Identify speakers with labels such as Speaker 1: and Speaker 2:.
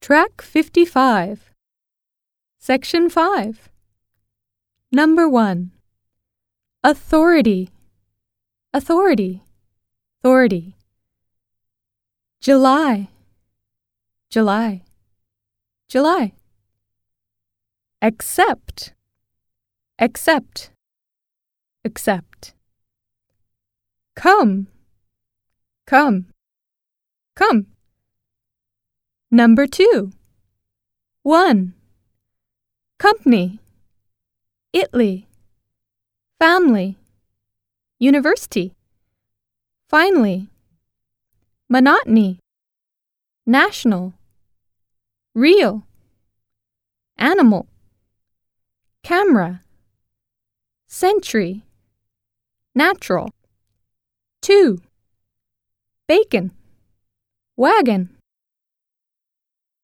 Speaker 1: Track 55. Section 5. Number 1. Authority. Authority. Authority. July. July. July. Accept. Accept. Accept. Come. Come. Come. Number 2. 1. Company. Italy. Family. University. Finally. Monotony. National. Real. Animal. Camera. Century. Natural. 2. Bacon. Wagon.